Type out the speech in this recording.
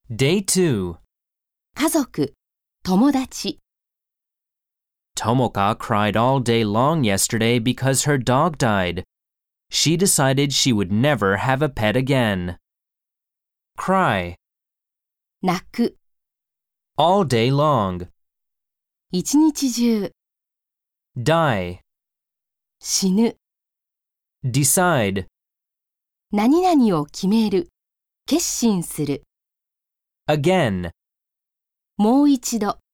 Day 2. 家族、友達、 Tomoka cried all day long yesterday because her dog died. She decided she would never have a pet again. Cry. 泣く、 All day long. 一日中、 Die. 死ぬ、 Decide. 何々を決める、決心する、 Again. もう一度。